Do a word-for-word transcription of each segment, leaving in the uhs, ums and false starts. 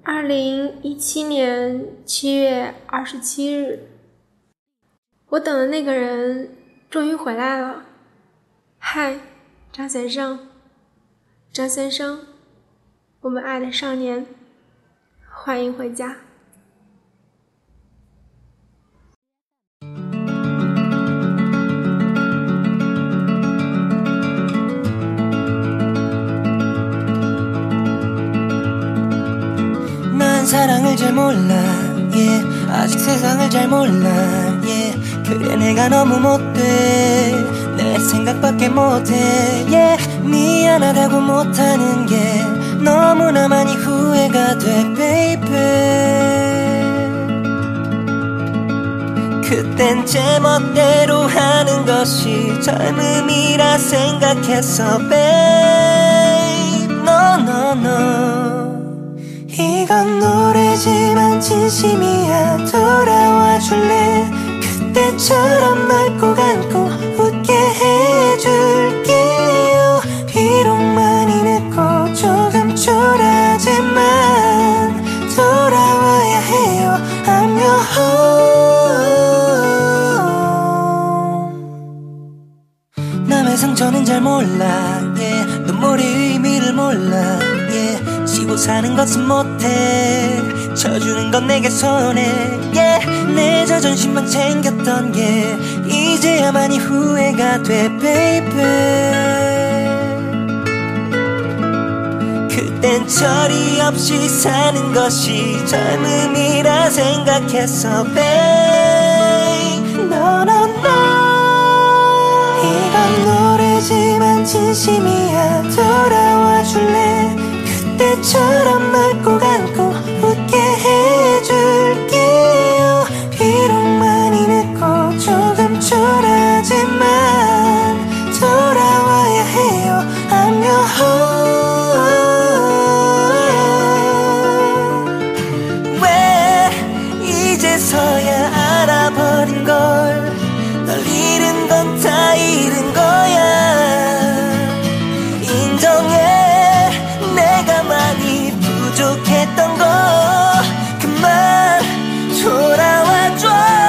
二零一七年七月二十七日，我等的那个人终于回来了。嗨，张先生，张先生，我们爱的少年，欢迎回家。 난 사랑을 잘 몰라 yeah. 아직 세상을 잘 몰라 yeah. 그래 내가 너무 못돼 내 생각밖에 못해 yeah. 미안하다고 못하는 게 너무나 많이 후회가 돼 baby 그땐 제 멋대로 하는 것이 젊음이라 생각했어 babe no no no 이건 노래지만 진심이야 돌아와 줄래 그때처럼 널 꼭 안고 웃게 해줄게요 비록 많이 늦고 조금 초라하지만 돌아와야 해요 I'm your home 남의 상처는 잘 몰라 yeah. 눈물의 의미를 몰라 yeah. 지고 사는 것은 못해 쳐주는 건 내게 손해 yeah. 내 자존심만 챙겼던 게 이제야 많이 후회가 돼 baby 그땐 처리 없이 사는 것이 젊음이라 생각했어 babe no no no 이건 노래지만 진심이야 돌아와 줄래 그때처럼 널 꼭 안고 웃게 해줄게요 비록 많이 늦고 조금 초라하지만 돌아와야 해요 I'm your home 왜 이제서야 알아버린 걸 널 잃은 건 다 잃은 거야 인정해 내가 많이 부족했던 거 그만 돌아와줘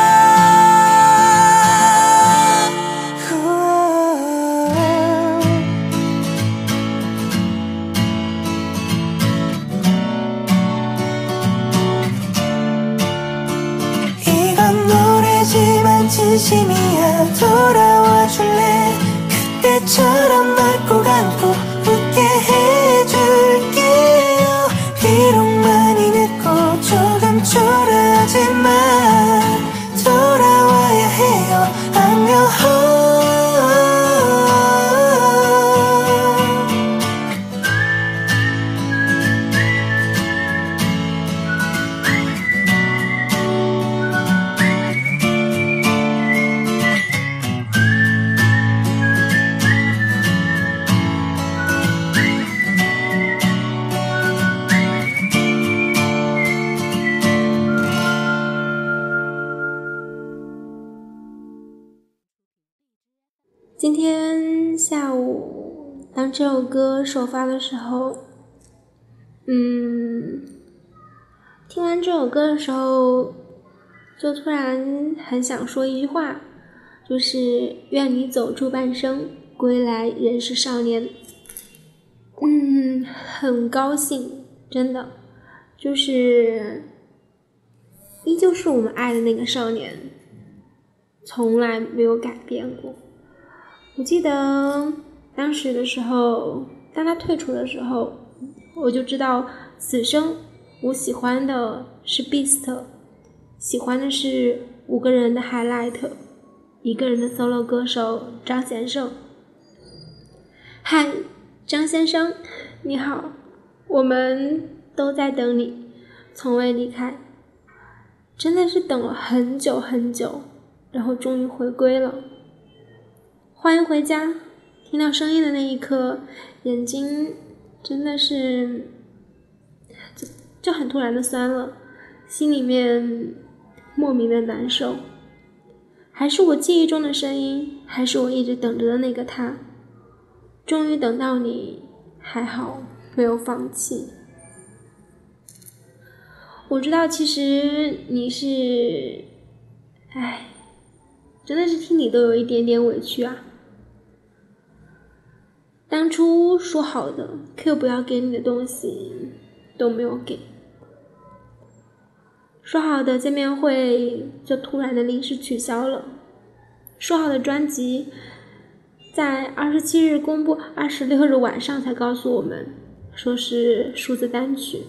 이건 노래지만 진심이야 돌아와 줄래 그때처럼 널 꼭 안고 웃게 해줄게요 비록 많이 늦고 조금 초라하지만 돌아와야 해요 I'm your home 今天下午当这首歌首发的时候，嗯，听完这首歌的时候，就突然很想说一句话，就是愿你走出半生，归来仍是少年。嗯，很高兴，真的，就是依旧是我们爱的那个少年，从来没有改变过。我记得当时的时候，当他退出的时候，我就知道此生我喜欢的是 Beast， 喜欢的是五个人的 highlight， 一个人的 solo 歌手张先生。嗨，张先生，你好，我们都在等你，从未离开，真的是等了很久很久，然后终于回归了。欢迎回家，听到声音的那一刻，眼睛真的是就就很突然的酸了，心里面莫名的难受。还是我记忆中的声音，还是我一直等着的那个他。终于等到你，还好没有放弃。 我知道其实你是，唉，真的是听你都有一点点委屈啊。当初说好的 Q 不要给你的东西都没有给，说好的见面会就突然的临时取消了，说好的专辑在二十七日公布，二十六日晚上才告诉我们说是数字单曲。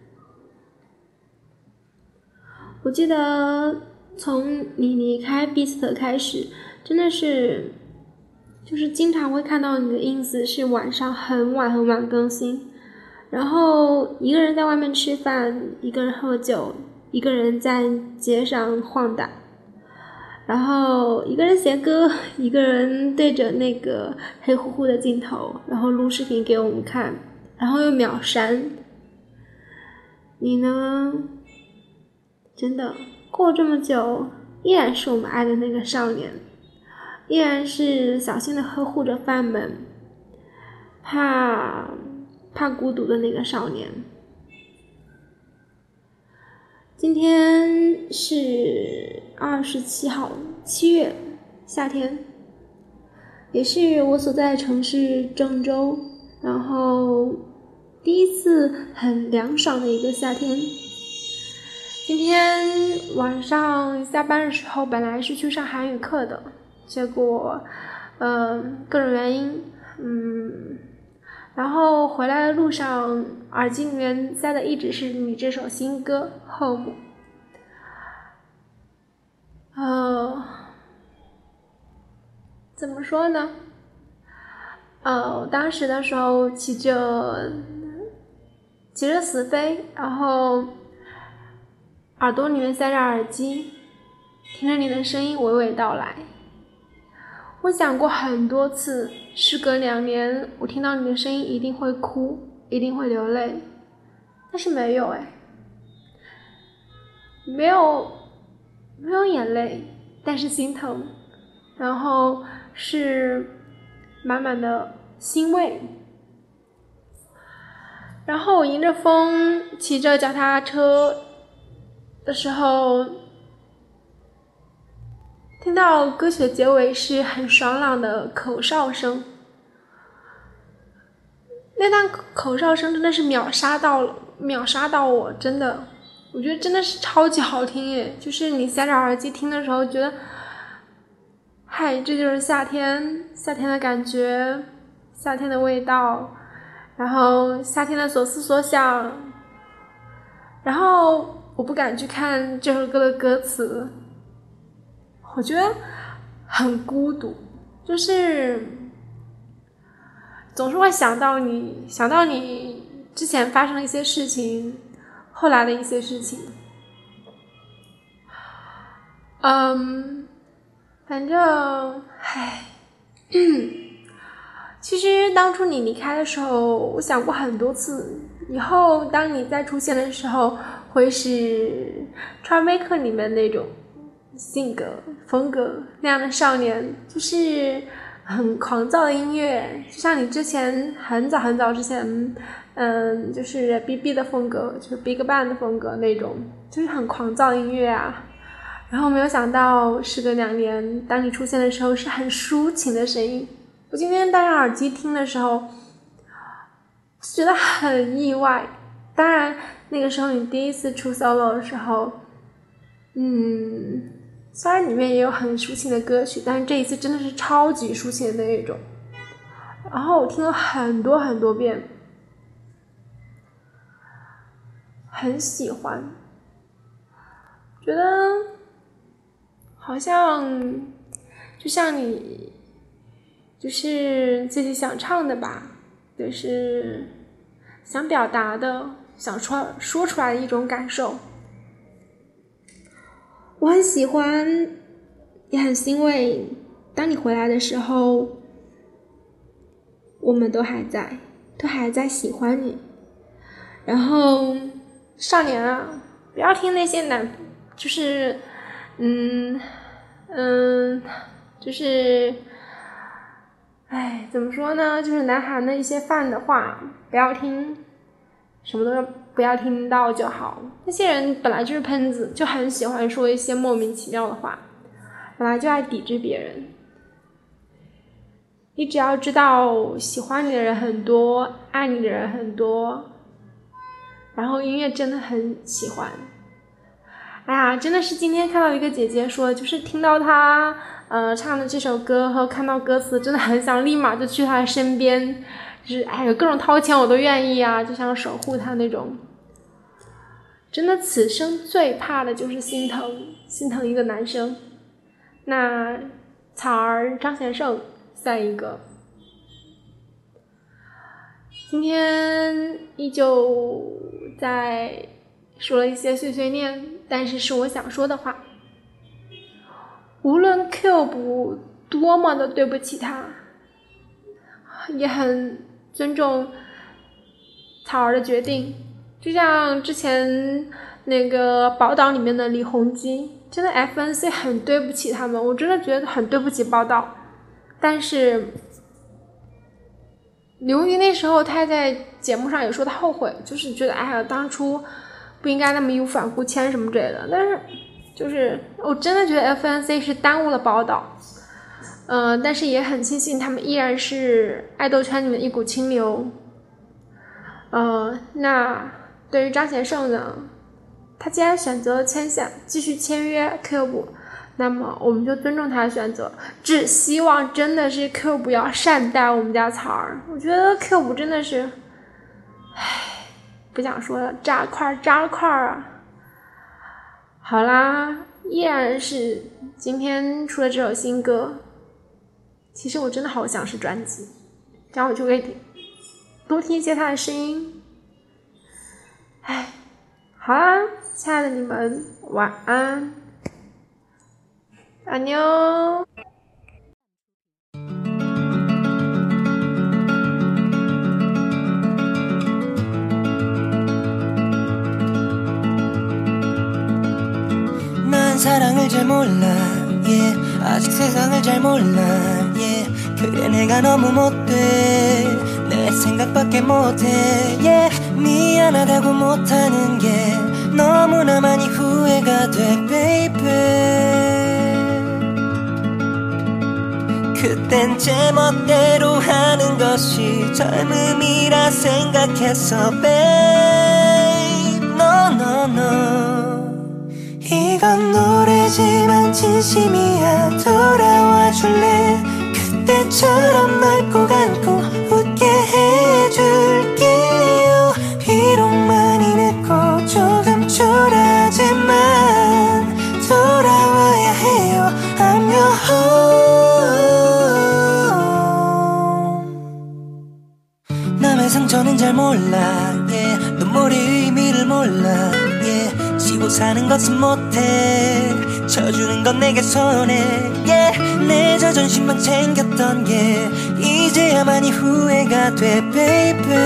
我记得从你离开 Beast 开始，真的是就是经常会看到你的 ins 是晚上很晚很晚更新，然后一个人在外面吃饭，一个人喝酒，一个人在街上晃荡，然后一个人写歌，一个人对着那个黑乎乎的镜头，然后录视频给我们看，然后又秒删。你呢？真的过这么久，依然是我们爱的那个少年，依然是小心的呵护着饭们，怕怕孤独的那个少年。今天是二十七号，七月，夏天，也是我所在的城市郑州，然后第一次很凉爽的一个夏天。今天晚上下班的时候本来是去上韩语课的，结果呃各种原因嗯然后回来的路上耳机里面塞的一直是你这首新歌 Home。 呃怎么说呢，呃当时的时候骑着骑着死飞，然后耳朵里面塞着耳机，听着你的声音娓娓道来。我想过很多次，时隔两年，我听到你的声音一定会哭，一定会流泪，但是没有哎，没有没有眼泪，但是心疼，然后是满满的欣慰。然后我迎着风骑着脚踏车的时候，听到歌曲的结尾是很爽朗的口哨声，那段口哨声真的是秒杀到了秒杀到我，真的我觉得真的是超级好听耶。就是你塞着耳机听的时候觉得嗨，这就是夏天，夏天的感觉，夏天的味道，然后夏天的所思所想。然后我不敢去看这首歌的歌词，我觉得很孤独，就是总是会想到你，想到你之前发生的一些事情，后来的一些事情。嗯，反正唉，其实当初你离开的时候，我想过很多次，以后当你再出现的时候，会是 Troublemaker 里面那种性格风格那样的少年，就是很狂躁的音乐，就像你之前很早很早之前嗯，就是 B B 的风格，就是 Big Bang 的风格那种，就是很狂躁的音乐啊。然后没有想到时隔两年，当你出现的时候是很抒情的声音。我今天戴上耳机听的时候觉得很意外，当然那个时候你第一次出 solo 的时候，嗯，虽然里面也有很抒情的歌曲，但是这一次真的是超级抒情的那一种。然后我听了很多很多遍，很喜欢，觉得好像就像你就是自己想唱的吧，就是想表达的，想说说出来的一种感受。我很喜欢，也很欣慰，当你回来的时候，我们都还在，都还在喜欢你。然后少年啊，不要听那些男，就是嗯嗯就是哎怎么说呢，就是南韩的一些饭的话不要听， 什么都不要听到就好。那些人本来就是喷子，就很喜欢说一些莫名其妙的话，本来就爱抵制别人。你只要知道喜欢你的人很多，爱你的人很多，然后音乐真的很喜欢。哎呀，真的是今天看到一个姐姐说，就是听到她呃唱的这首歌和看到歌词，真的很想立马就去她身边，就是哎有各种掏钱我都愿意啊，就想守护她那种。真的此生最怕的就是心疼，心疼一个男生。那草儿、张贤胜算一个。今天依旧在说了一些碎碎念，但是是我想说的话。无论 Cube 多么的对不起他，也很尊重草儿的决定。就像之前那个宝岛里面的李弘基，真的 F N C 很对不起他们，我真的觉得很对不起宝岛。但是刘瑜那时候他在节目上也说他后悔，就是觉得哎呀当初不应该那么义无反顾签什么之类的。但是就是我真的觉得 F N C 是耽误了宝岛，嗯、呃，但是也很庆幸他们依然是爱豆圈里面一股清流。呃，那对于张贤胜呢，他既然选择了签下继续签约 Cube， 那么我们就尊重他的选择，只希望真的是 Cube 要善待我们家草儿。我觉得 Cube 真的是唉，不想说了，渣块渣块啊。好啦，依然是今天出了这首新歌，其实我真的好想是专辑，这样我就可以多听一些他的声音。唉，好啦，亲爱的你们晚安，安妞。 난 사랑을 잘 몰라 yeah. 아직 세상을 잘 몰라 yeah. 그래 내가 너무 못돼 내 생각밖에 못해 yeah. 미안하다고 못하는 게 너무나 많이 후회가 돼 baby 그땐 제 멋대로 하는 것이 젊음이라 생각했어 babe no no no 이건 노래지만 진심이야 돌아와 줄래 그때처럼 널 꼭 안고 웃게 해줄게요 비록 많이 늦고 조금 초라하지만 돌아와야 해요 I'm your home 남의 상처는 잘 몰라 yeah. 눈물의 의미를 몰라 yeah. 지고 사는 것은 못해 쳐주는 건 내게 손해 yeah. 내 자존심만 챙겼던 게 이제야 많이 후회가 돼 baby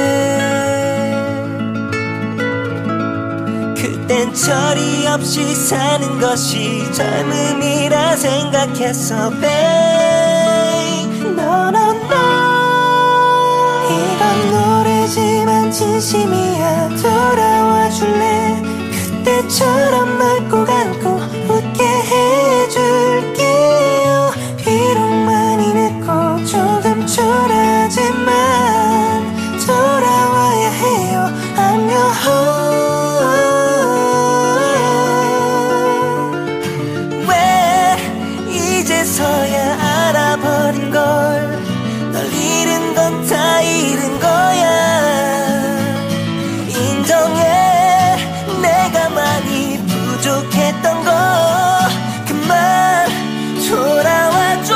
그땐 철이 없이 사는 것이 젊음이라 생각했어 babe no no no 이건 노래지만 진심이야 돌아와 줄래 그때처럼 널 꼭 안고 웃게 해줄게요 비록 많이 늦고 조금 초라하지만 돌아와야 해요 I'm your home 왜 이제서야 알아버린 걸 널 잃은 건 다 잃은 거야 인정해 내가 많이 부족했던 거 그만 돌아와줘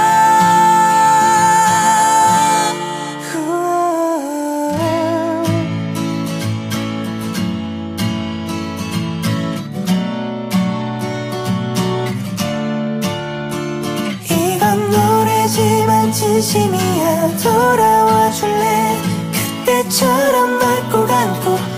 이건 노래지만 진심이야 돌아와 줄래 그때처럼 널 꼭 안고